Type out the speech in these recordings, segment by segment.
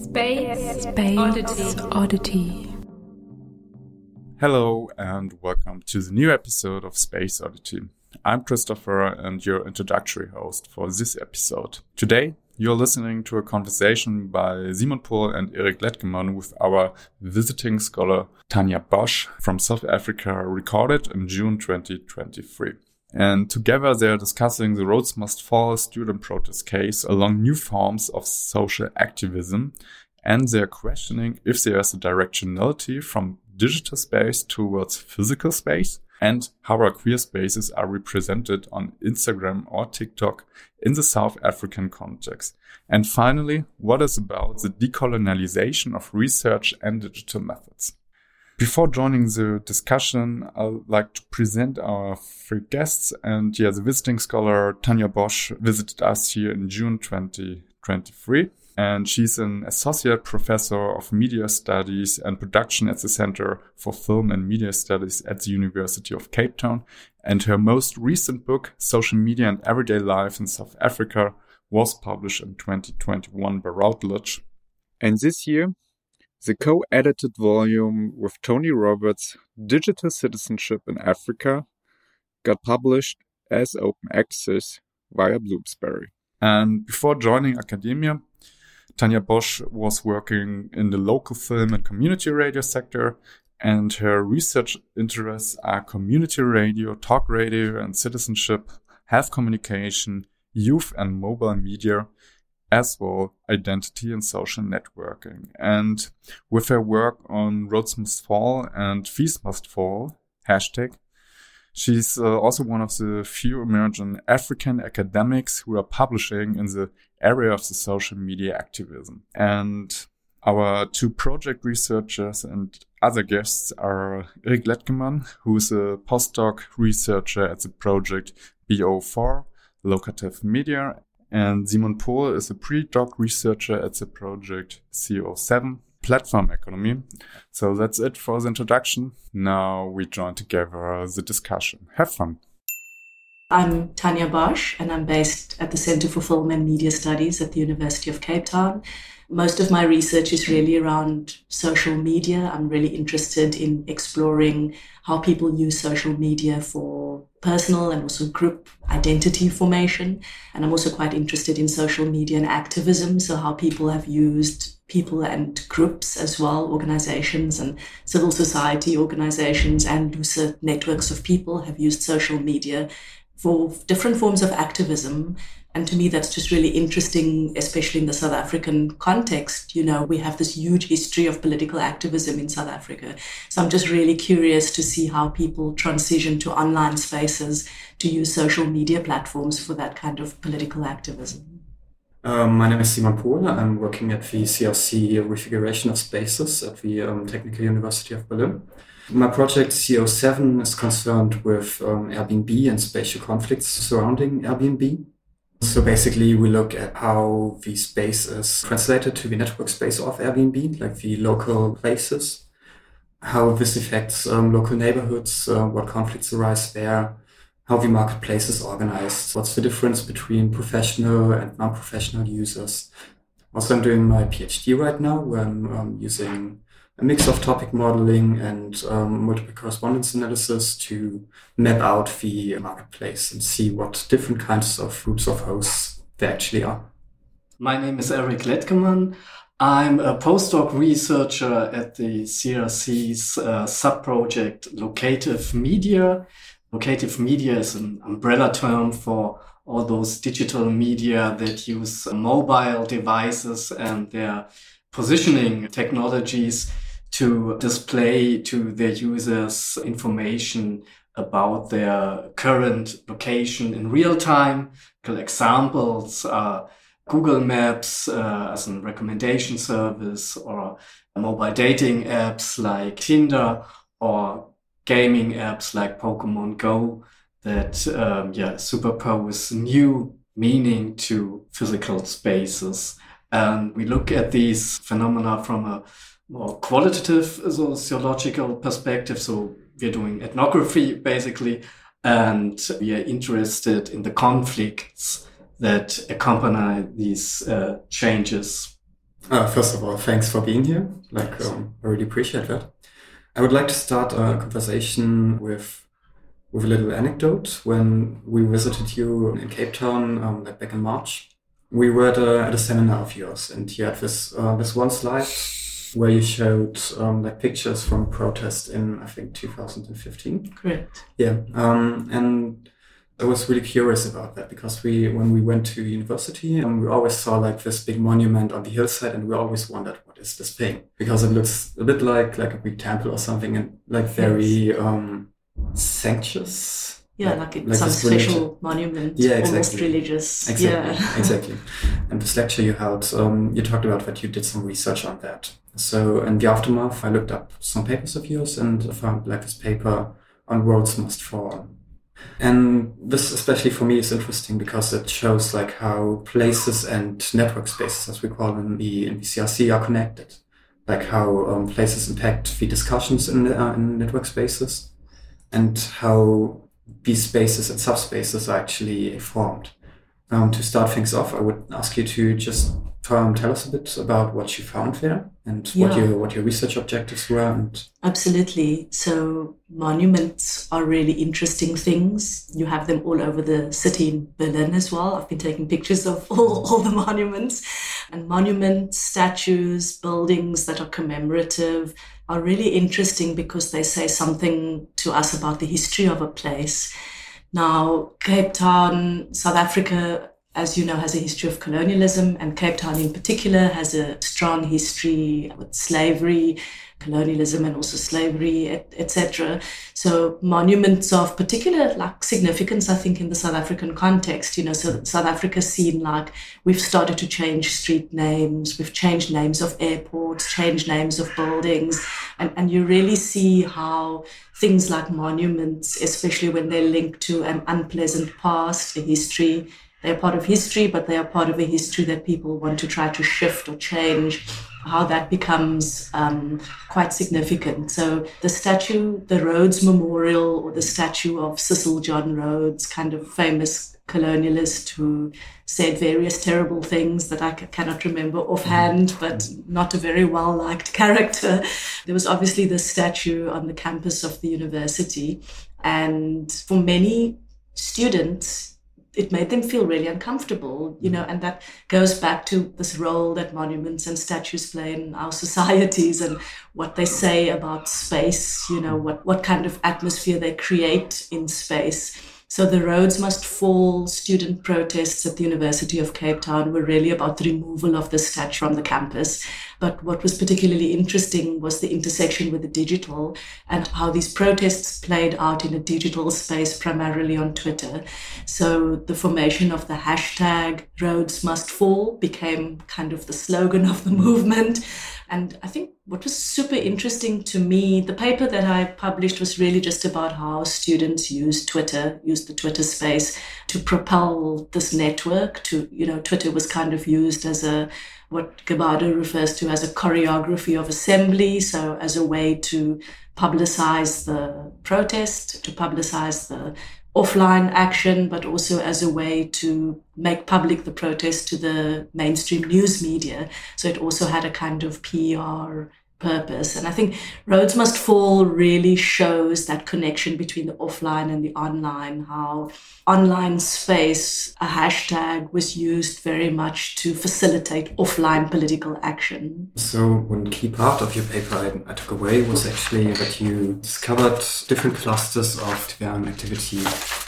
Space Oddity. Hello and welcome to the new episode of Space Oddity. I'm Christopher and your introductory host for this episode. Today, you're listening to a conversation by Simon Pohl and Erik Letkeman with our visiting scholar Tanja Bosch from South Africa, recorded in June 2023. And together they are discussing the Rhodes Must Fall student protest case along new forms of social activism, and they are questioning if there is a directionality from digital space towards physical space, and how our queer spaces are represented on Instagram or TikTok in the South African context. And finally, what is about the decolonialization of research and digital methods. Before joining the discussion, I'd like to present our three guests. And the visiting scholar Tanja Bosch visited us here in June 2023. And she's an associate professor of media studies and production at the Center for Film and Media Studies at the University of Cape Town. And her most recent book, Social Media and Everyday Life in South Africa, was published in 2021 by Routledge. And this year, the co-edited volume with Tony Roberts, Digital Citizenship in Africa, got published as open access via Bloomsbury. And before joining academia, Tanja Bosch was working in the local film and community radio sector, and her research interests are community radio, talk radio and citizenship, health communication, youth and mobile media, as well identity and social networking. And with her work on Rhodes Must Fall and Fees Must Fall, hashtag, she's also one of the few emerging African academics who are publishing in the area of the social media activism. And our two project researchers and other guests are Erik Letkeman, who is a postdoc researcher at the project BO4, Locative Media, and Simon Pohl is a pre-doc researcher at the project CO7, Platform Economy. So that's it for the introduction. Now we join together the discussion. Have fun. I'm Tanja Bosch, and I'm based at the Center for Film and Media Studies at the University of Cape Town. Most of my research is really around social media. I'm really interested in exploring how people use social media for personal and also group identity formation. And I'm also quite interested in social media and activism, so how people have used people and groups as well, organizations and civil society organizations and looser networks of people have used social media for different forms of activism. And to me, that's just really interesting, especially in the South African context. You know, we have this huge history of political activism in South Africa. So I'm just really curious to see how people transition to online spaces to use social media platforms for that kind of political activism. My name is Simon Pohl. I'm working at the CRC Refiguration of Spaces at the Technical University of Berlin. My project CO7 is concerned with Airbnb and spatial conflicts surrounding Airbnb. So basically, we look at how the space is translated to the network space of Airbnb, like the local places, how this affects local neighborhoods, what conflicts arise there, how the marketplace is organized, what's the difference between professional and non-professional users. Also, I'm doing my PhD right now, where I'm using a mix of topic modeling and multiple correspondence analysis to map out the marketplace and see what different kinds of groups of hosts there actually are. My name is Erik Letkeman. I'm a postdoc researcher at the CRC's sub-project Locative Media. Locative media is an umbrella term for all those digital media that use mobile devices and their positioning technologies to display to their users information about their current location in real time. Examples are Google Maps as a recommendation service, or mobile dating apps like Tinder, or gaming apps like Pokemon Go that superpose new meaning to physical spaces. And we look at these phenomena from a more qualitative sociological perspective. So we're doing ethnography, basically, and we are interested in the conflicts that accompany these changes. First of all, thanks for being here. I really appreciate that. I would like to start a conversation with a little anecdote. When we visited you in Cape Town, back in March, we were at a seminar of yours, and you had this one slide where you showed pictures from a protest in, I think, 2015. Correct. Yeah, and I was really curious about that because when we went to university, we always saw this big monument on the hillside, and we always wondered, what is this thing? Because it looks a bit like a big temple or something, and very sanctuous. Yeah, some special monument, yeah, exactly. Almost religious. Exactly, yeah. Exactly. And this lecture you held, you talked about that you did some research on that. So in the aftermath, I looked up some papers of yours and found this paper on Roads Must Fall. And this, especially for me, is interesting because it shows how places and network spaces, as we call them in the CRC, are connected. How places impact the discussions in network spaces, and how these spaces and subspaces are actually formed. To start things off, I would ask you to just tell us a bit about what you found there and what your research objectives were. Absolutely. So monuments are really interesting things. You have them all over the city in Berlin as well. I've been taking pictures of all the monuments. And monuments, statues, buildings that are commemorative are really interesting because they say something to us about the history of a place. Now, Cape Town, South Africa, as you know, has a history of colonialism, and Cape Town in particular has a strong history with slavery, colonialism, and also slavery, etc. So monuments of particular significance, I think, in the South African context. So South Africa's seen we've started to change street names, we've changed names of airports, changed names of buildings, and you really see how things like monuments, especially when they're linked to an unpleasant past, a history, they're part of history, but they are part of a history that people want to try to shift or change, how that becomes quite significant. So the statue, the Rhodes Memorial, or the statue of Cecil John Rhodes, kind of famous colonialist who said various terrible things that I cannot remember offhand, but not a very well-liked character. There was obviously this statue on the campus of the university. And for many students, it made them feel really uncomfortable, and that goes back to this role that monuments and statues play in our societies and what they say about space, what kind of atmosphere they create in space. So the Roads Must Fall student protests at the University of Cape Town were really about the removal of the statue from the campus. But what was particularly interesting was the intersection with the digital and how these protests played out in a digital space, primarily on Twitter. So the formation of the hashtag Roads Must Fall became kind of the slogan of the movement. And I think what was super interesting to me, the paper that I published was really just about how students use the Twitter space to propel this network. Twitter was kind of used as what Gabado refers to as a choreography of assembly. So as a way to publicize the protest, to publicize the offline action, but also as a way to make public the protest to the mainstream news media. So it also had a kind of PR purpose. And I think Roads Must Fall really shows that connection between the offline and the online, how online space, a hashtag, was used very much to facilitate offline political action. So one key part of your paper I took away was actually that you discovered different clusters of Tibetan activity.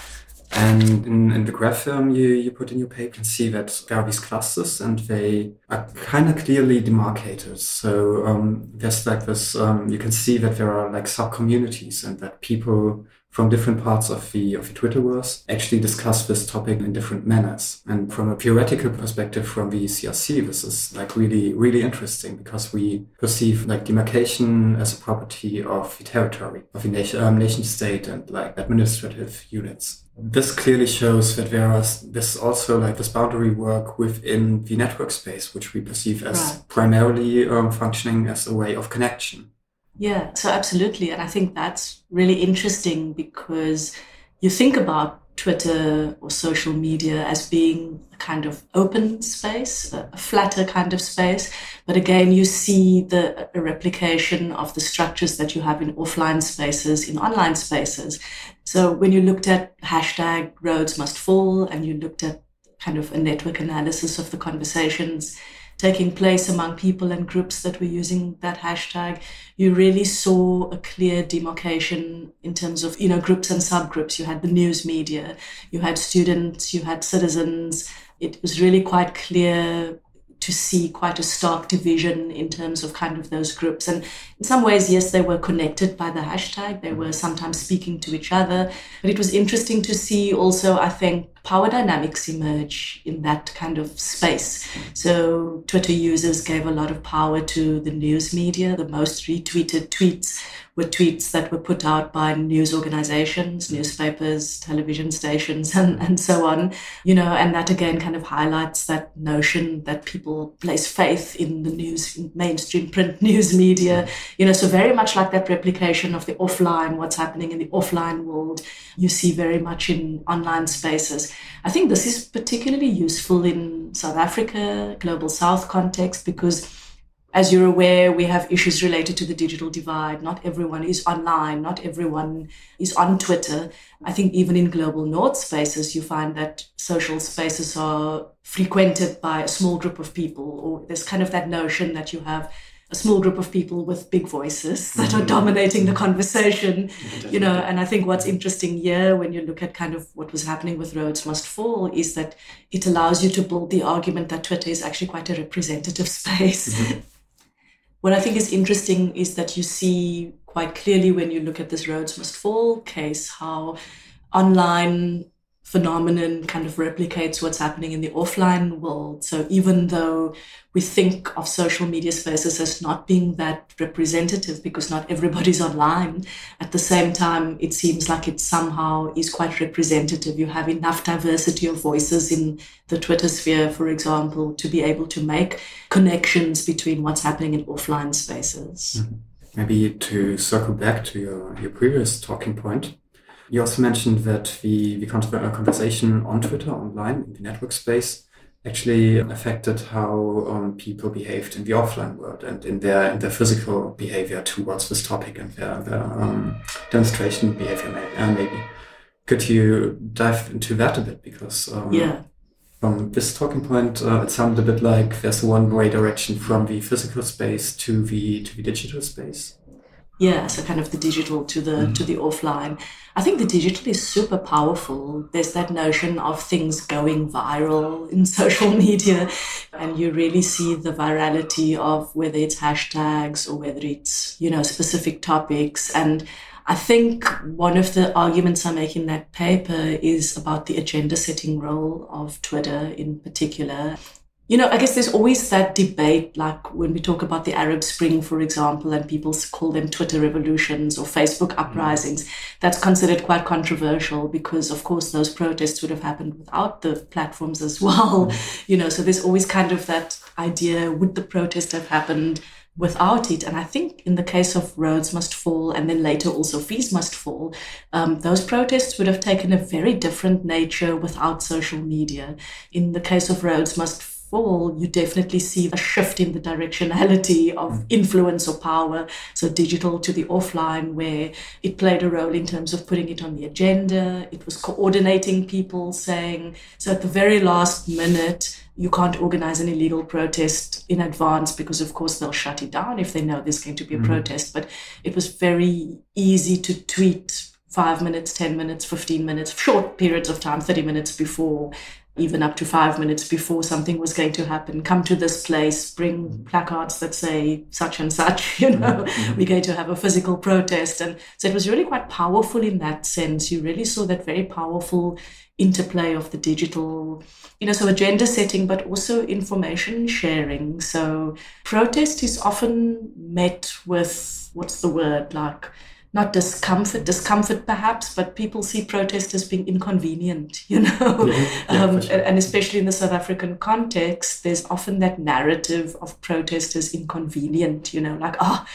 And in the graph you put in your paper, you can see that there are these clusters and they are kind of clearly demarcated. So there's this, you can see that there are sub-communities and that people from different parts of the Twitterverse actually discuss this topic in different manners. And from a theoretical perspective from the CRC, this is really, really interesting because we perceive demarcation as a property of the territory, of the nation state and administrative units. This clearly shows that there's also this boundary work within the network space, which we perceive as primarily functioning as a way of connection. Yeah, so absolutely. And I think that's really interesting because you think about Twitter or social media as being a kind of open space, a flatter kind of space. But again, you see a replication of the structures that you have in offline spaces, in online spaces. So when you looked at hashtag Rhodes Must Fall and you looked at kind of a network analysis of the conversations taking place among people and groups that were using that hashtag, you really saw a clear demarcation in terms of, groups and subgroups. You had the news media, you had students, you had citizens. It was really quite clear to see quite a stark division in terms of kind of those groups. And in some ways, yes, they were connected by the hashtag. They were sometimes speaking to each other. But it was interesting to see also, I think, power dynamics emerge in that kind of space. So Twitter users gave a lot of power to the news media. The most retweeted tweets were tweets that were put out by news organizations, newspapers, television stations, and so on. And that again kind of highlights that notion that people place faith in the news, in mainstream print news media. So very much like that replication of the offline, what's happening in the offline world, you see very much in online spaces. I think this is particularly useful in South Africa, Global South context, because as you're aware, we have issues related to the digital divide. Not everyone is online. Not everyone is on Twitter. I think even in Global North spaces, you find that social spaces are frequented by a small group of people, or there's kind of that notion that you have a small group of people with big voices that are dominating the conversation, and I think what's interesting here when you look at kind of what was happening with Rhodes Must Fall is that it allows you to build the argument that Twitter is actually quite a representative space. Mm-hmm. What I think is interesting is that you see quite clearly when you look at this Rhodes Must Fall case, how online phenomenon kind of replicates what's happening in the offline world. So even though we think of social media spaces as not being that representative because not everybody's online, at the same time, it seems like it somehow is quite representative. You have enough diversity of voices in the Twitter sphere, for example, to be able to make connections between what's happening in offline spaces. Mm-hmm. Maybe to circle back to your previous talking point, you also mentioned that the conversation on Twitter, online, in the network space, actually affected how people behaved in the offline world and in their physical behavior towards this topic and their demonstration behavior, maybe. Could you dive into that a bit? Because from this talking point, it sounded a bit like there's a one-way direction from the physical space to the digital space. Yeah, so kind of the digital to the offline. I think the digital is super powerful. There's that notion of things going viral in social media, and you really see the virality of whether it's hashtags or whether it's, specific topics. And I think one of the arguments I make in that paper is about the agenda setting role of Twitter in particular. I guess there's always that debate, like when we talk about the Arab Spring, for example, and people call them Twitter revolutions or Facebook uprisings. That's considered quite controversial because, of course, those protests would have happened without the platforms as well. So there's always kind of that idea, would the protest have happened without it? And I think in the case of Rhodes Must Fall and then later also Fees Must Fall, those protests would have taken a very different nature without social media. In the case of Rhodes Must Fall, you definitely see a shift in the directionality of influence or power. So digital to the offline, where it played a role in terms of putting it on the agenda. It was coordinating people, saying, so at the very last minute, you can't organize an illegal protest in advance because, of course, they'll shut it down if they know there's going to be a protest. But it was very easy to tweet 5 minutes, 10 minutes, 15 minutes, short periods of time, 30 minutes before, even up to 5 minutes before something was going to happen. Come to this place, bring placards that say such and such, we're going to have a physical protest. And so it was really quite powerful in that sense. You really saw that very powerful interplay of the digital, so agenda setting, but also information sharing. So protest is often met with, what's the word, like, not discomfort perhaps, but people see protest as being inconvenient, Sure. And especially in the South African context, there's often that narrative of protest as inconvenient, like,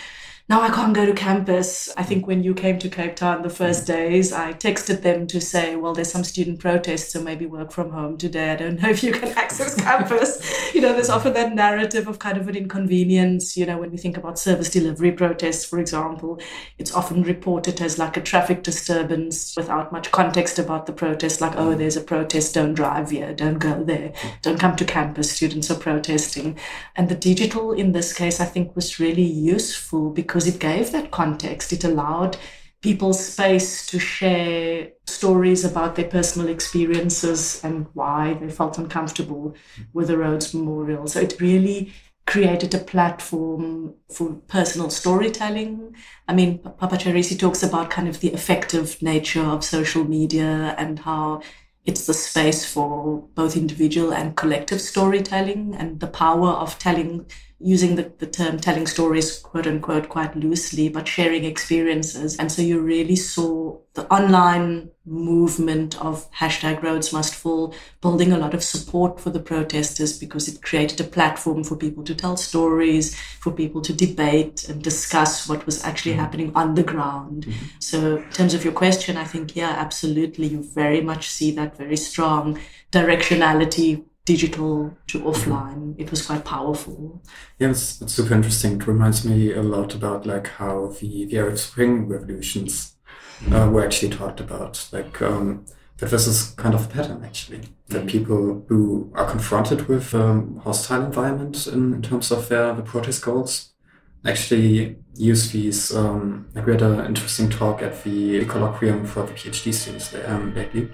no, I can't go to campus. I think when you came to Cape Town the first days, I texted them to say, well, there's some student protests, so maybe work from home today. I don't know if you can access campus. There's often that narrative of kind of an inconvenience. When we think about service delivery protests, for example, it's often reported as like a traffic disturbance without much context about the protest, like, oh, there's a protest, don't drive here, don't go there, don't come to campus, students are protesting. And the digital in this case, I think, was really useful because it gave that context. It allowed people space to share stories about their personal experiences and why they felt uncomfortable with the Rhodes Memorial. So it really created a platform for personal storytelling. I mean, Papacharissi talks about kind of the effective nature of social media and how it's the space for both individual and collective storytelling, and the power of using the term telling stories, quote unquote, quite loosely, but sharing experiences. And so you really saw the online movement of #RhodesMustFall building a lot of support for the protesters, because it created a platform for people to tell stories, for people to debate and discuss what was actually happening on the ground. Mm-hmm. So in terms of your question, I think, yeah, absolutely. You very much see that very strong directionality, digital to offline. It was quite powerful. Yeah, it's super interesting. It reminds me a lot about like how the Arab Spring revolutions were actually talked about. Like that this is kind of a pattern actually, that people who are confronted with hostile environment in terms of the protest goals actually use these. Like we had an interesting talk at the colloquium for the PhD students lately.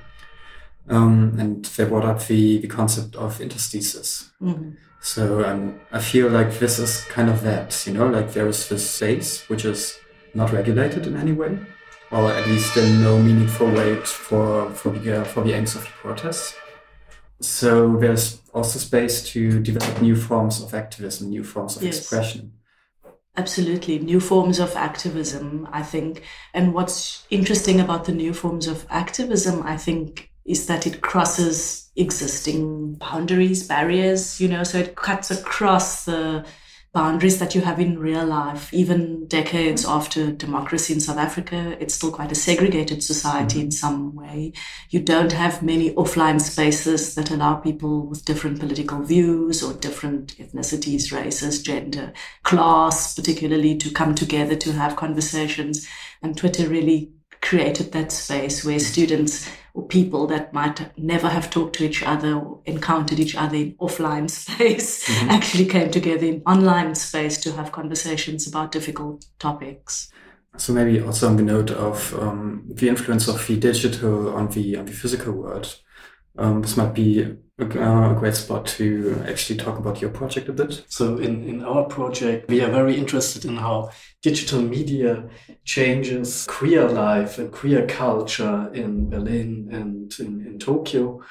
And they brought up the concept of interstices. Mm-hmm. So I feel like this is kind of that, like there is this space which is not regulated in any way, or at least in no meaningful way for the aims of the protests. So there's also space to develop new forms of activism, new forms of expression. Absolutely. New forms of activism, I think. And what's interesting about the new forms of activism, I think, is that it crosses existing boundaries, barriers, so it cuts across the boundaries that you have in real life. Even decades after democracy in South Africa, it's still quite a segregated society in some way. You don't have many offline spaces that allow people with different political views or different ethnicities, races, gender, class, particularly, to come together to have conversations. And Twitter really created that space where students or people that might never have talked to each other or encountered each other in offline space actually came together in online space to have conversations about difficult topics. So maybe also on the note of the influence of the digital on the physical world, this might be a great spot to actually talk about your project a bit. So in our project, we are very interested in how digital media changes queer life and queer culture in Berlin and in Tokyo.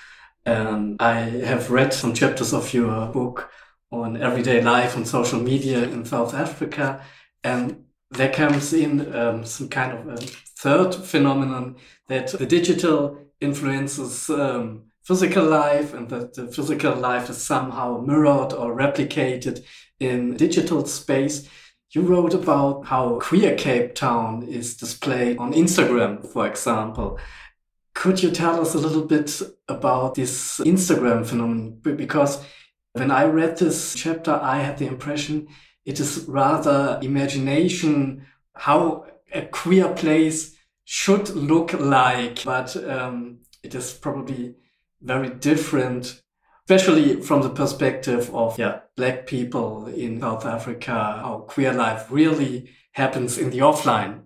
And I have read some chapters of your book on everyday life and social media in South Africa. And there comes in some kind of a third phenomenon, that the digital influences physical life, and that the physical life is somehow mirrored or replicated in digital space. You wrote about how queer Cape Town is displayed on Instagram, for example. Could you tell us a little bit about this Instagram phenomenon? Because when I read this chapter, I had the impression it is rather imagination, how a queer place should look like, but it is probably very different, especially from the perspective of Black people in South Africa, how queer life really happens in the offline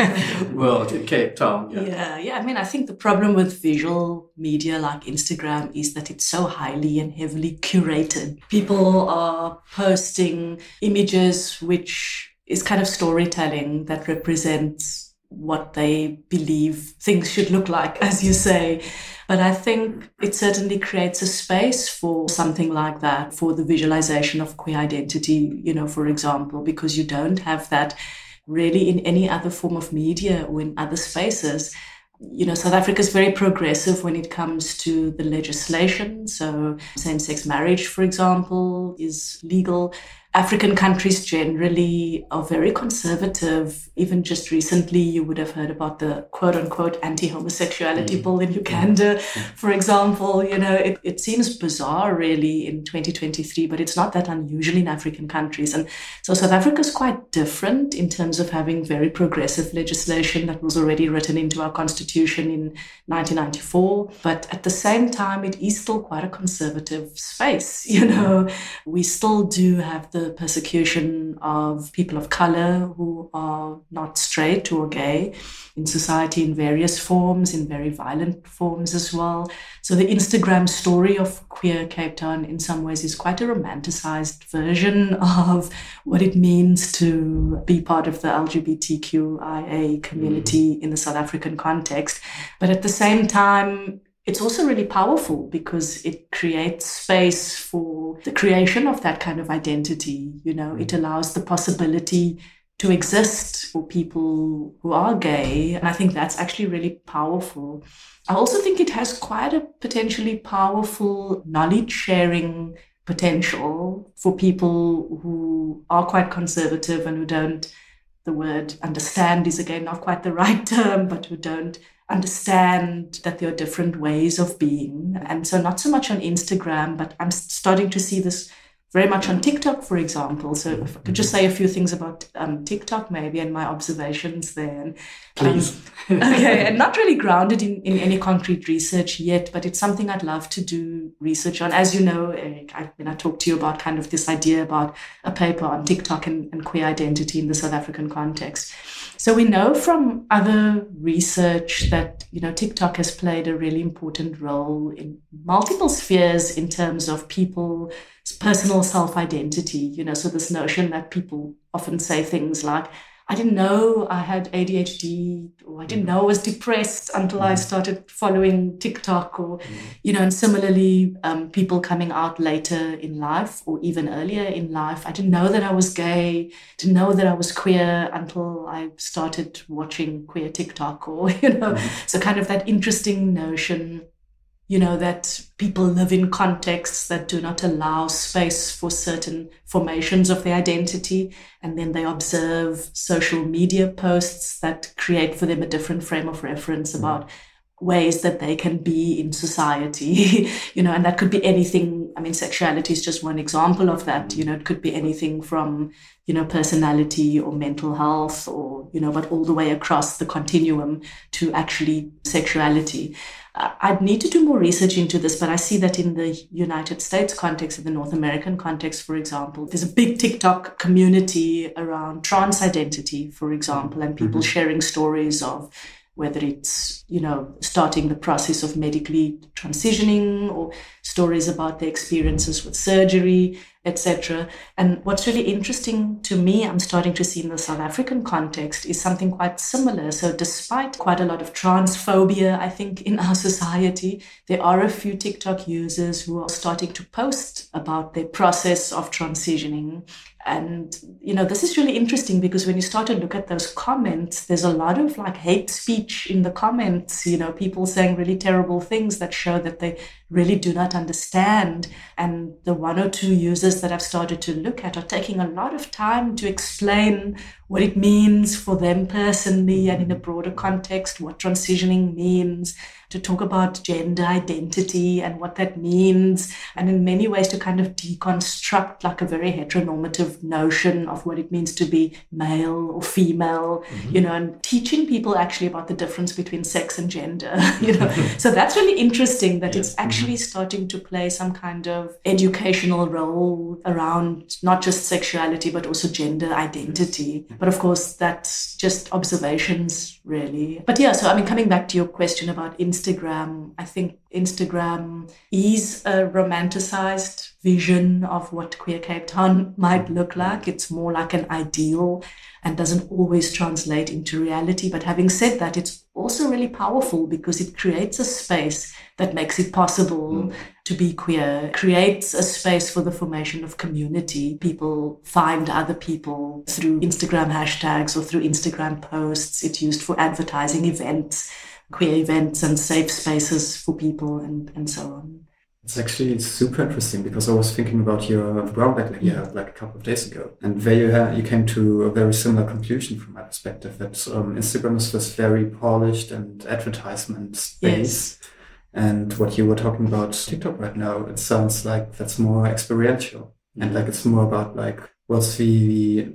world in Cape Town. Yeah. I mean, I think the problem with visual media like Instagram is that it's so highly and heavily curated. People are posting images which is kind of storytelling that represents what they believe things should look like, as you say. But I think it certainly creates a space for something like that, for the visualization of queer identity, for example, because you don't have that really in any other form of media or in other spaces. South Africa is very progressive when it comes to the legislation. So same-sex marriage, for example, is legal. African countries generally are very conservative. Even just recently, you would have heard about the quote-unquote anti-homosexuality bill in Uganda, for example. It seems bizarre, really, in 2023, but it's not that unusual in African countries. And so South Africa is quite different in terms of having very progressive legislation that was already written into our constitution in 1994. But at the same time, it is still quite a conservative space. We still do have the persecution of people of color who are not straight or gay in society in various forms, in very violent forms as well. So the Instagram story of queer Cape Town in some ways is quite a romanticized version of what it means to be part of the LGBTQIA community in the South African context. But at the same time, it's also really powerful because it creates space for the creation of that kind of identity. It allows the possibility to exist for people who are gay. And I think that's actually really powerful. I also think it has quite a potentially powerful knowledge sharing potential for people who are quite conservative and who don't, the word understand is again not quite the right term, but who don't understand that there are different ways of being. And so not so much on Instagram, but I'm starting to see this very much on TikTok, for example. So if I could just say a few things about TikTok maybe and my observations there. Please. Okay, and not really grounded in any concrete research yet, but it's something I'd love to do research on. As you know, Eric, I talked to you about kind of this idea about a paper on TikTok and queer identity in the South African context. So we know from other research that, TikTok has played a really important role in multiple spheres in terms of people's personal self-identity. So this notion that people often say things like, I didn't know I had ADHD, or I didn't know I was depressed until I started following TikTok, or, and similarly, people coming out later in life or even earlier in life. I didn't know that I was gay, didn't know that I was queer until I started watching queer TikTok, or, so kind of that interesting notion that people live in contexts that do not allow space for certain formations of their identity. And then they observe social media posts that create for them a different frame of reference about ways that they can be in society, and that could be anything. I mean, sexuality is just one example of that. It could be anything from, personality or mental health or, but all the way across the continuum to actually sexuality. I'd need to do more research into this, but I see that in the United States context, in the North American context, for example, there's a big TikTok community around trans identity, for example, and people sharing stories of whether it's, starting the process of medically transitioning or stories about their experiences with surgery, etc. And what's really interesting to me, I'm starting to see in the South African context, is something quite similar. So despite quite a lot of transphobia, I think, in our society, there are a few TikTok users who are starting to post about their process of transitioning. And, this is really interesting because when you start to look at those comments, there's a lot of hate speech in the comments, people saying really terrible things that show that they really do not understand. And the one or two users that I've started to look at are taking a lot of time to explain what it means for them personally and in a broader context, what transitioning means, to talk about gender identity and what that means, and in many ways to kind of deconstruct a very heteronormative notion of what it means to be male or female, and teaching people actually about the difference between sex and gender, So that's really interesting that it's actually starting to play some kind of educational role around not just sexuality, but also gender identity. But of course, that's just observations, really. But yeah, so coming back to your question about Instagram, I think Instagram is a romanticized vision of what queer Cape Town might look like. It's more like an ideal and doesn't always translate into reality. But having said that, it's also really powerful because it creates a space that makes it possible to be queer, creates a space for the formation of community. People find other people through Instagram hashtags or through Instagram posts. It's used for advertising events, queer events and safe spaces for people and so on. It's actually super interesting because I was thinking about your brown bag you had like a couple of days ago. And there you came to a very similar conclusion from my perspective that Instagram is this very polished and advertisement space. Yes. And what you were talking about TikTok right now, it sounds like that's more experiential. And like it's more about like what's the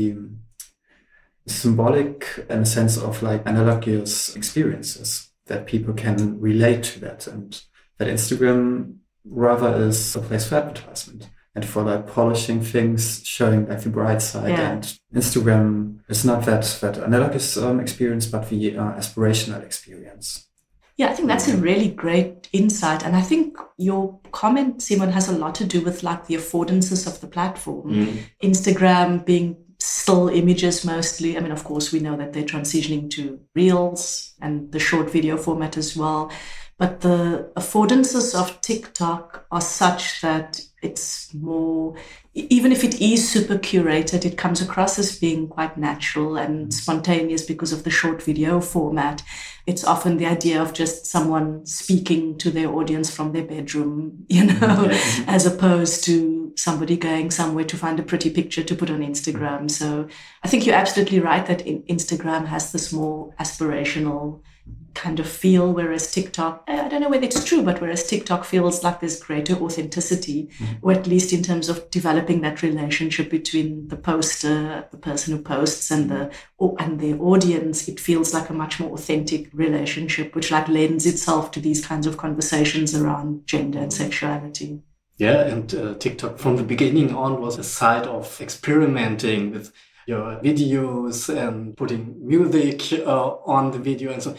symbolic in a sense of like analogous experiences that people can relate to that, and that Instagram rather is a place for advertisement and for like polishing things, showing like the bright side. Yeah. And Instagram is not that analogous experience, but the aspirational experience. Yeah, I think that's a really great insight. And I think your comment, Simon, has a lot to do with like the affordances of the platform. Instagram being still images mostly. I mean, of course, we know that they're transitioning to Reels and the short video format as well. But the affordances of TikTok are such that it's more, even if it is super curated, it comes across as being quite natural and spontaneous because of the short video format. It's often the idea of just someone speaking to their audience from their bedroom, as opposed to somebody going somewhere to find a pretty picture to put on Instagram. So I think you're absolutely right that Instagram has this more aspirational kind of feel, whereas TikTok, I don't know whether it's true, but whereas TikTok feels like there's greater authenticity, or at least in terms of developing that relationship between the poster, the person who posts, and their audience, it feels like a much more authentic relationship, which like lends itself to these kinds of conversations around gender and sexuality. Yeah, and TikTok from the beginning on was a site of experimenting with your videos and putting music on the video and so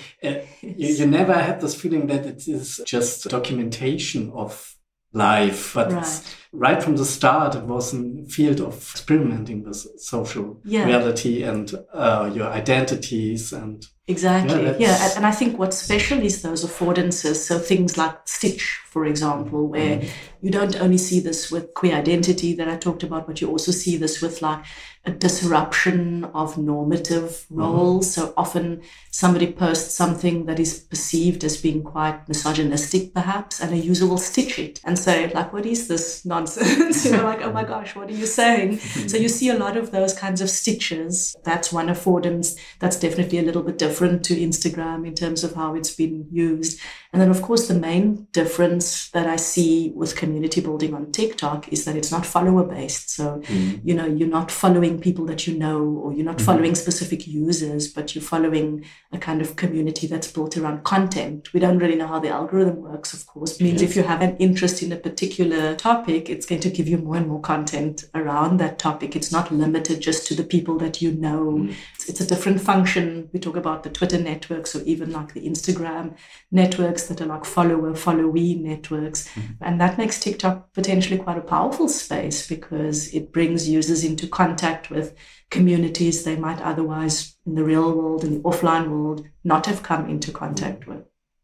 you never had this feeling that it is just documentation of life, but right from the start it was a field of experimenting with social reality and your identities and exactly. And I think what's special is those affordances. So things like Stitch, for example, where you don't only see this with queer identity that I talked about, but you also see this with like a disruption of normative roles. So often somebody posts something that is perceived as being quite misogynistic, perhaps, and a user will stitch it and say, like, what is this nonsense? Like, oh my gosh, what are you saying? So you see a lot of those kinds of stitches. That's one affordance. That's definitely a little bit different to Instagram in terms of how it's been used. And then, of course, the main difference that I see with community building on TikTok is that it's not follower-based. So, you're not following people that you know, or you're not following specific users, but you're following a kind of community that's built around content. We don't really know how the algorithm works, of course. It means if you have an interest in a particular topic, it's going to give you more and more content around that topic. It's not limited just to the people that you know. It's a different function. We talk about the Twitter networks, or even like the Instagram networks that are like followee networks. And that makes TikTok potentially quite a powerful space because it brings users into contact with communities they might otherwise in the real world, in the offline world, not have come into contact with.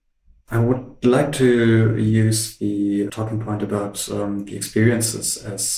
I would like to use the talking point about the experiences as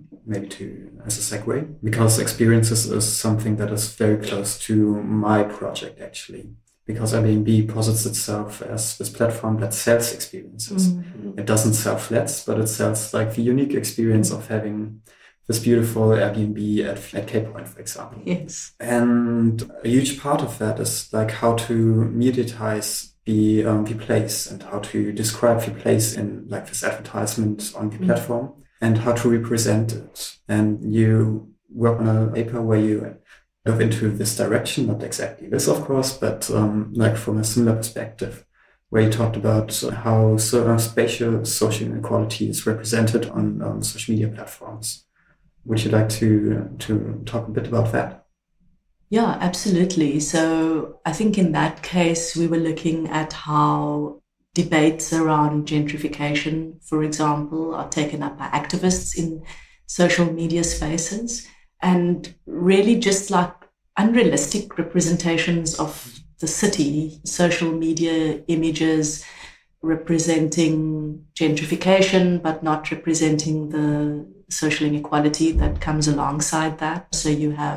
as a segue, because experiences is something that is very close to my project actually. Because Airbnb posits itself as this platform that sells experiences. It doesn't sell flats, but it sells like the unique experience of having this beautiful Airbnb at Cape Point, for example. Yes. And a huge part of that is like how to mediatize the place and how to describe the place in like this advertisement on the platform and how to represent it. And you work on a paper where you dove into this direction, not exactly this, of course, but like from a similar perspective, where you talked about how spatial social inequality is represented on social media platforms. Would you like to talk a bit about that? Yeah, absolutely. So I think in that case, we were looking at how debates around gentrification, for example, are taken up by activists in social media spaces, and really just like unrealistic representations of the city, social media images representing gentrification, but not representing the social inequality that comes alongside that. So you have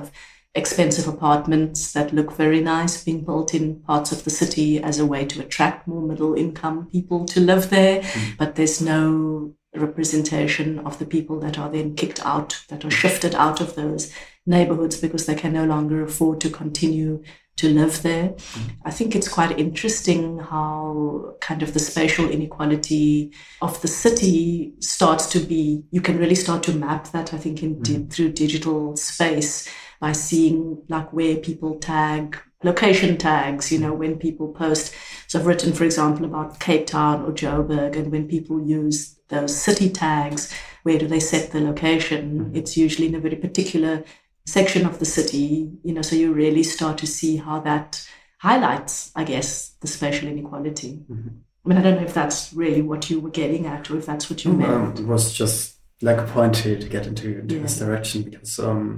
expensive apartments that look very nice being built in parts of the city as a way to attract more middle income people to live there. But there's no representation of the people that are then kicked out, that are shifted out of those neighborhoods because they can no longer afford to continue to live there. I think it's quite interesting how kind of the spatial inequality of the city starts to be, you can really start to map that, I think, through digital space by seeing like where people tag, location tags, when people post. So I've written, for example, about Cape Town or Joburg, and when people use those city tags, where do they set the location? It's usually in a very particular section of the city, so you really start to see how that highlights, I guess, the spatial inequality. I mean, I don't know if that's really what you were getting at or if that's what you meant. It was just like a point to get into this direction, because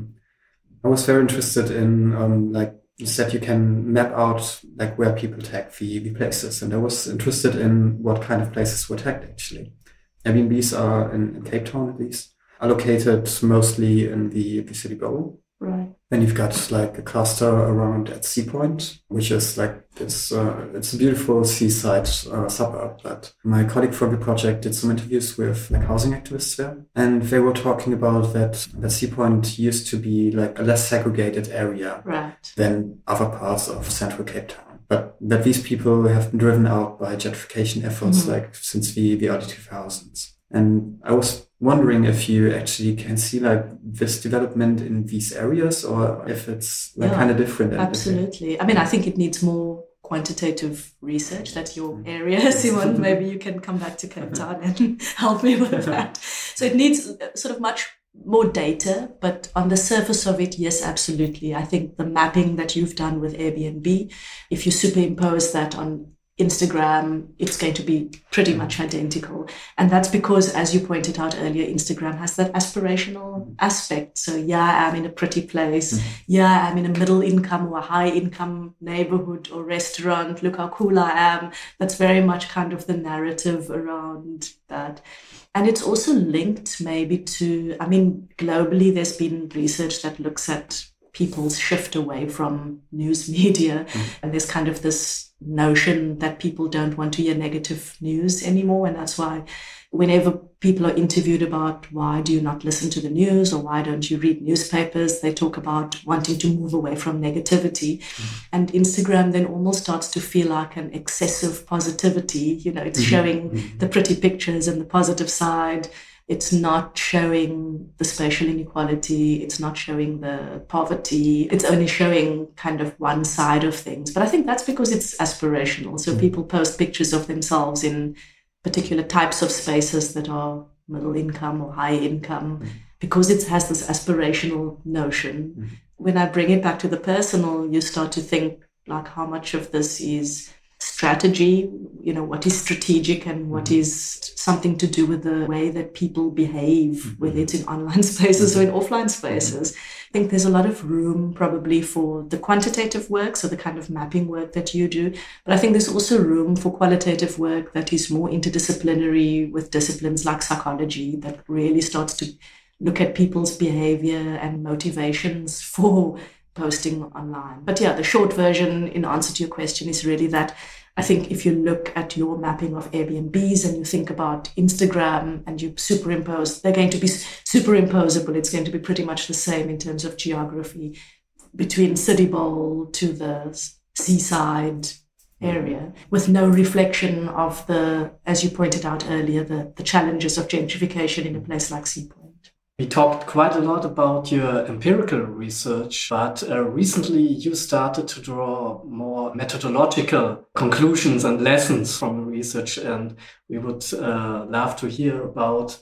I was very interested in, like you said, you can map out like where people tag the places. And I was interested in what kind of places were tagged actually. Airbnbs are, in Cape Town at least, are located mostly in the city bowl. Right. Then you've got like a cluster around at Sea Point, which is like this, it's a beautiful seaside suburb. But my colleague from the project did some interviews with like housing activists there. And they were talking about that Sea Point used to be like a less segregated area than other parts of central Cape Town. But that these people have been driven out by gentrification efforts like since the early 2000s. And I was wondering if you actually can see like this development in these areas, or if it's like kind of different. Absolutely. I mean, I think it needs more quantitative research. That's your area, Simon. Maybe you can come back to Cape Town and help me with that. So it needs sort of much more data, but on the surface of it, yes, absolutely. I think the mapping that you've done with Airbnb, if you superimpose that on Instagram, it's going to be pretty much identical. And that's because, as you pointed out earlier, Instagram has that aspirational aspect. So yeah, I'm in a pretty place. Yeah, I'm in a middle income or a high income neighborhood or restaurant. Look how cool I am. That's very much kind of the narrative around that. And it's also linked maybe to, I mean, globally, there's been research that looks at people's shift away from news media. And there's kind of this notion that people don't want to hear negative news anymore. And that's why whenever people are interviewed about why do you not listen to the news or why don't you read newspapers, they talk about wanting to move away from negativity. And Instagram then almost starts to feel like an excessive positivity. It's showing the pretty pictures and the positive side. It's not showing the spatial inequality. It's not showing the poverty. It's only showing kind of one side of things. But I think that's because it's aspirational. So people post pictures of themselves in particular types of spaces that are middle income or high income because it has this aspirational notion. When I bring it back to the personal, you start to think like how much of this is strategy, what is strategic and what is something to do with the way that people behave, whether it's in online spaces or in offline spaces. I think there's a lot of room probably for the quantitative work, so the kind of mapping work that you do. But I think there's also room for qualitative work that is more interdisciplinary with disciplines like psychology that really starts to look at people's behavior and motivations for posting online. But yeah, the short version in answer to your question is really that I think if you look at your mapping of Airbnbs and you think about Instagram and you superimpose, they're going to be superimposable. It's going to be pretty much the same in terms of geography between City Bowl to the seaside area with no reflection of the, as you pointed out earlier, the challenges of gentrification in a place like Sea Point. We talked quite a lot about your empirical research, but recently you started to draw more methodological conclusions and lessons from the research, and we would love to hear about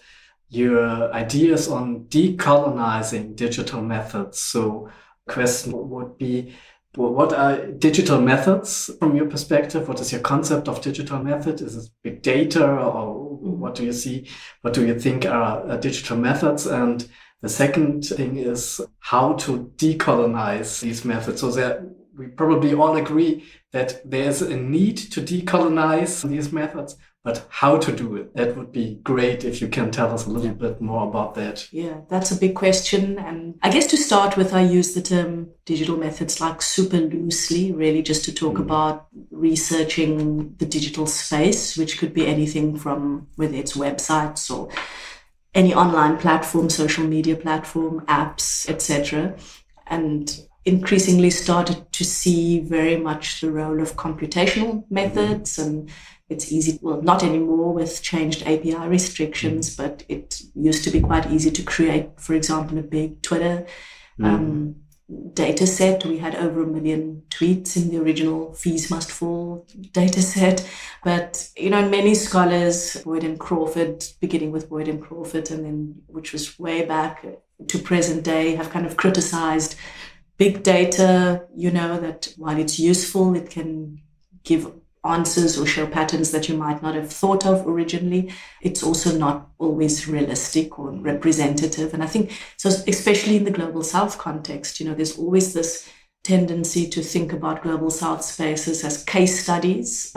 your ideas on decolonizing digital methods. So the question would be, what are digital methods from your perspective? What is your concept of digital method? Is it big data, or what do you see? What do you think are digital methods? And the second thing is how to decolonize these methods. So we probably all agree that there's a need to decolonize these methods. But how to do it, that would be great if you can tell us a little bit more about that. Yeah, that's a big question. And I guess to start with, I use the term digital methods like super loosely, really just to talk about researching the digital space, which could be anything from whether it's websites or any online platform, social media platform, apps, etc. And increasingly started to see very much the role of computational methods. And it's easy, well, not anymore with changed API restrictions, but it used to be quite easy to create, for example, a big Twitter data set. We had over 1 million tweets in the original Fees Must Fall data set. But, many scholars, Boyd and Crawford, beginning with Boyd and Crawford, and then which was way back to present day, have kind of criticized big data, that while it's useful, it can give answers or show patterns that you might not have thought of originally. It's also not always realistic or representative. And I think, so especially in the Global South context, there's always this tendency to think about Global South spaces as case studies.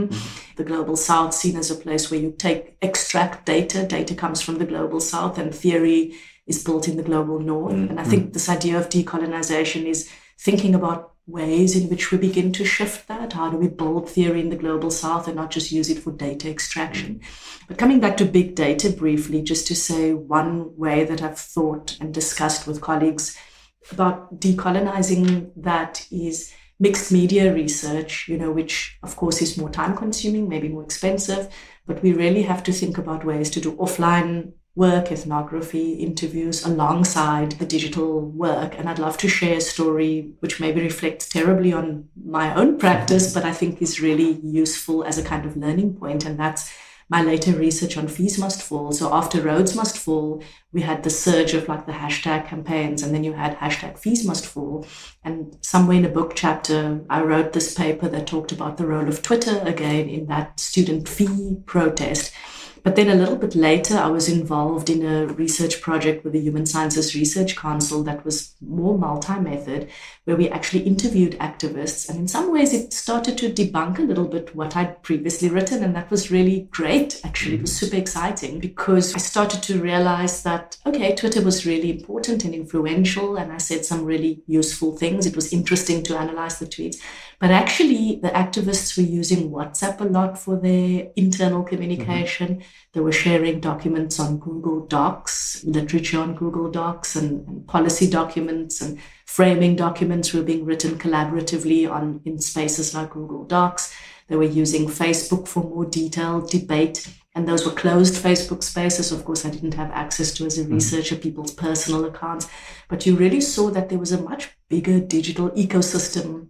The Global South seen as a place where you extract data comes from the Global South, and theory is built in the Global North. And I think this idea of decolonization is thinking about ways in which we begin to shift that. How do we build theory in the Global South and not just use it for data extraction? But coming back to big data briefly, just to say one way that I've thought and discussed with colleagues about decolonizing that is mixed media research, which of course is more time consuming, maybe more expensive, but we really have to think about ways to do offline work, ethnography, interviews alongside the digital work. And I'd love to share a story which maybe reflects terribly on my own practice, but I think is really useful as a kind of learning point. And that's my later research on Fees Must Fall. So after Rhodes Must Fall, we had the surge of like the hashtag campaigns, and then you had hashtag Fees Must Fall. And somewhere in a book chapter, I wrote this paper that talked about the role of Twitter again in that student fee protest. But then a little bit later, I was involved in a research project with the Human Sciences Research Council that was more multi-method, where we actually interviewed activists. And in some ways, it started to debunk a little bit what I'd previously written. And that was really great, actually. It was super exciting because I started to realize that, okay, Twitter was really important and influential. And I said some really useful things. It was interesting to analyze the tweets. But actually, the activists were using WhatsApp a lot for their internal communication. They were sharing documents on Google Docs, literature on Google Docs, and policy documents and framing documents were being written collaboratively in spaces like Google Docs. They were using Facebook for more detailed debate. And those were closed Facebook spaces. Of course, I didn't have access to as a researcher, people's personal accounts. But you really saw that there was a much bigger digital ecosystem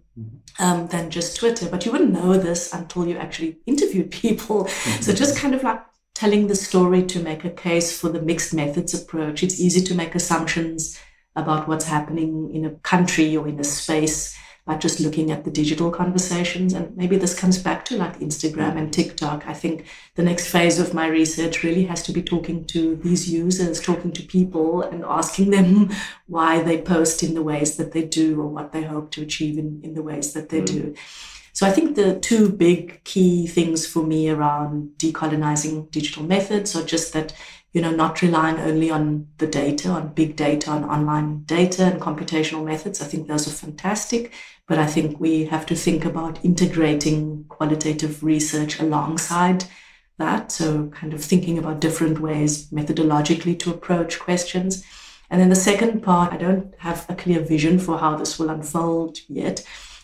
than just Twitter. But you wouldn't know this until you actually interviewed people. So just kind of like telling the story to make a case for the mixed methods approach. It's easy to make assumptions about what's happening in a country or in a space by just looking at the digital conversations. And maybe this comes back to like Instagram and TikTok. I think the next phase of my research really has to be talking to these users, talking to people and asking them why they post in the ways that they do or what they hope to achieve in the ways that they do. So I think the two big key things for me around decolonizing digital methods are just that, not relying only on the data, on big data, on online data and computational methods. I think those are fantastic, but I think we have to think about integrating qualitative research alongside that. So kind of thinking about different ways methodologically to approach questions. And then the second part, I don't have a clear vision for how this will unfold yet,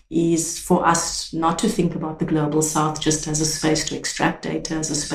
is for us not to think about the Global South just as a space to extract data,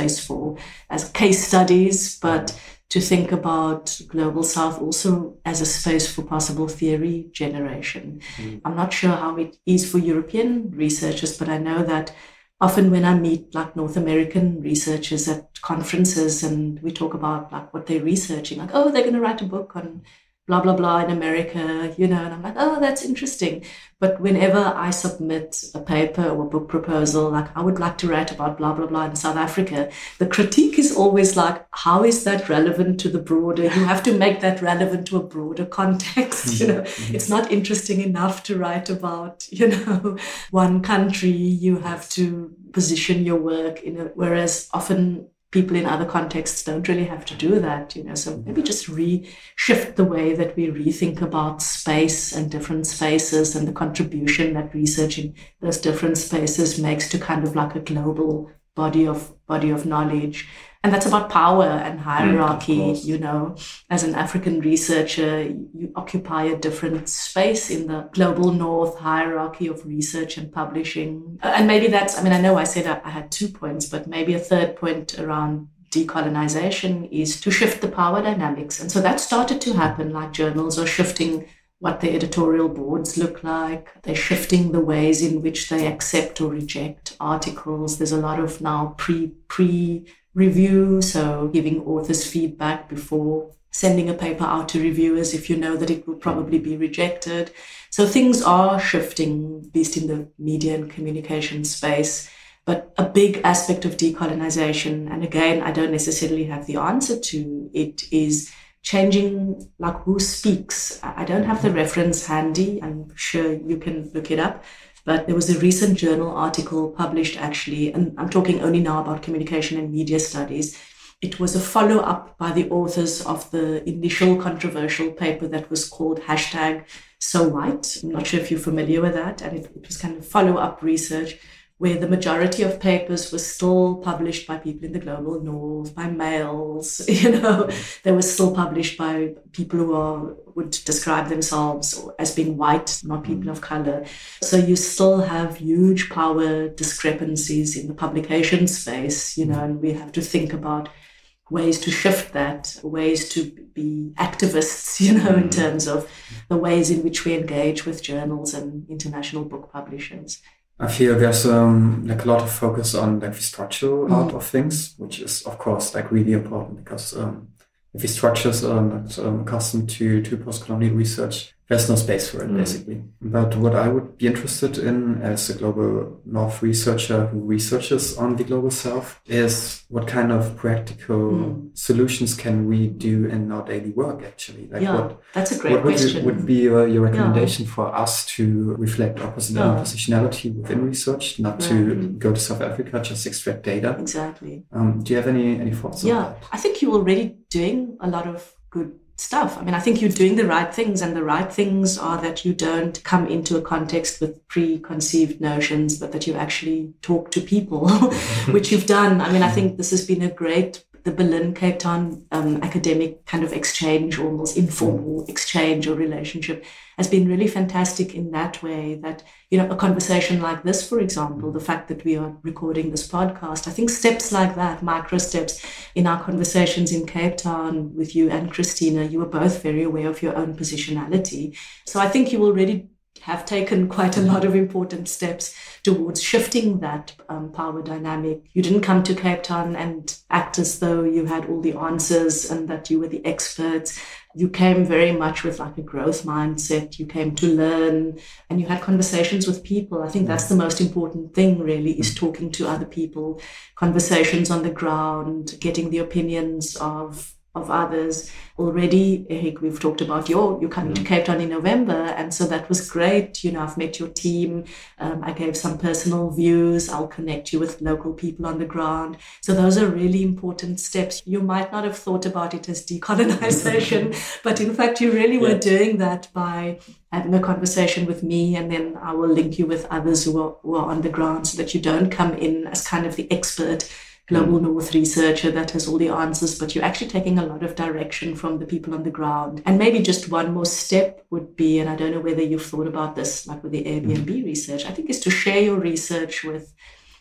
as case studies, but to think about Global South also as a space for possible theory generation. I'm not sure how it is for European researchers, but I know that often when I meet like North American researchers at conferences and we talk about like what they're researching, like, oh, they're going to write a book on blah, blah, blah in America, and I'm like, oh, that's interesting. But whenever I submit a paper or a book proposal, like I would like to write about blah, blah, blah in South Africa, the critique is always like, how is that relevant to the broader? You have to make that relevant to a broader context. It's not interesting enough to write about, one country. You have to position your work whereas often people in other contexts don't really have to do that, So maybe just shift the way that we rethink about space and different spaces and the contribution that research in those different spaces makes to kind of like a global body of knowledge. And that's about power and hierarchy, As an African researcher, you occupy a different space in the global north hierarchy of research and publishing. And maybe I know I said I had 2 points, but maybe a third point around decolonization is to shift the power dynamics. And so that started to happen, like journals are shifting what the editorial boards look like. They're shifting the ways in which they accept or reject articles. There's a lot of now pre-review, so giving authors feedback before sending a paper out to reviewers if you know that it will probably be rejected. So things are shifting, at least in the media and communication space. But a big aspect of decolonization, and again, I don't necessarily have the answer to it, is changing like who speaks. I don't have the reference handy. I'm sure you can look it up. But there was a recent journal article published actually, and I'm talking only now about communication and media studies. It was a follow-up by the authors of the initial controversial paper that was called #SoWhite. I'm not sure if you're familiar with that. And it was kind of follow-up research where the majority of papers were still published by people in the global north, by males, They were still published by people who would describe themselves as being white, not people of color. So you still have huge power discrepancies in the publication space, and we have to think about ways to shift that, ways to be activists, in terms of the ways in which we engage with journals and international book publishers. I feel there's like a lot of focus on like the structural part of things, which is of course like really important because if the structures are not accustomed to post-colonial research, there's no space for it basically. But what I would be interested in as a global North researcher who researches on the global South is what kind of practical solutions can we do in our daily work actually? Like that's a great question. What would be your recommendation for us to reflect our positionality within research, not to go to South Africa, just extract data? Exactly. Do you have any thoughts on that? I think you're already doing a lot of good stuff. I think you're doing the right things, and the right things are that you don't come into a context with preconceived notions, but that you actually talk to people, which you've done. I think this has been the Berlin Cape Town academic kind of exchange, almost informal exchange or relationship, has been really fantastic in that way that, a conversation like this, for example, the fact that we are recording this podcast, I think steps like that, micro steps in our conversations in Cape Town with you and Christina, you were both very aware of your own positionality. So I think you already have taken quite a lot of important steps towards shifting that power dynamic. You didn't come to Cape Town and act as though you had all the answers and that you were the experts. You came very much with like a growth mindset. You came to learn and you had conversations with people. I think that's the most important thing really, is talking to other people, conversations on the ground, getting the opinions of others. Already, Eric, we've talked about you're coming to Cape Town in November, and so that was great. I've met your team. I gave some personal views. I'll connect you with local people on the ground. So those are really important steps. You might not have thought about it as decolonization, but in fact, you really were doing that by having a conversation with me, and then I will link you with others who are on the ground so that you don't come in as kind of the expert global North researcher that has all the answers, but you're actually taking a lot of direction from the people on the ground. And maybe just one more step would be, and I don't know whether you've thought about this, like with the Airbnb research, I think is to share your research with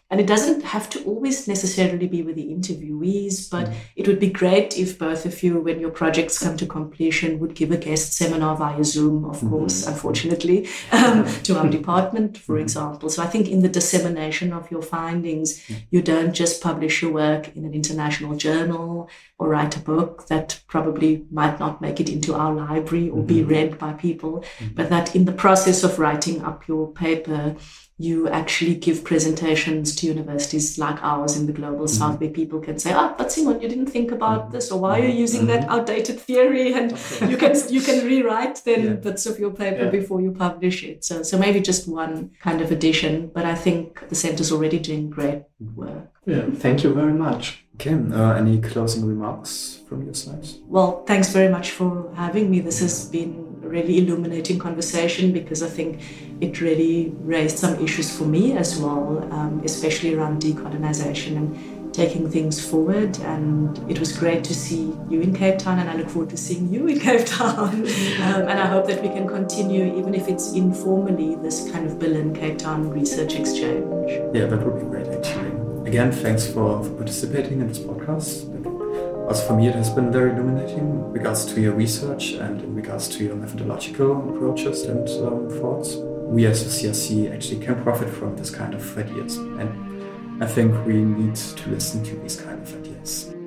And it doesn't have to always necessarily be with the interviewees, but it would be great if both of you, when your projects come to completion, would give a guest seminar via Zoom, of course, unfortunately, to our department, for example. So I think in the dissemination of your findings, you don't just publish your work in an international journal or write a book that probably might not make it into our library or be read by people, but that in the process of writing up your paper, you actually give presentations to universities like ours in the global south where people can say, but Simon, you didn't think about this, or why are you using that outdated theory? And you can rewrite then bits of your paper before you publish it. So maybe just one kind of addition, but I think the center's already doing great work. Yeah, thank you very much. Okay, any closing remarks from your side? Well, thanks very much for having me. This has been a really illuminating conversation because I think it really raised some issues for me as well, especially around decolonization and taking things forward. And it was great to see you in Cape Town, and I look forward to seeing you in Cape Town. And I hope that we can continue, even if it's informally, this kind of Berlin-Cape Town research exchange. Yeah, that would be great, actually. Again, thanks for participating in this podcast. Also for me, it has been very illuminating in regards to your research and in regards to your methodological approaches and thoughts. We as a CRC actually can profit from this kind of ideas. And I think we need to listen to these kind of ideas.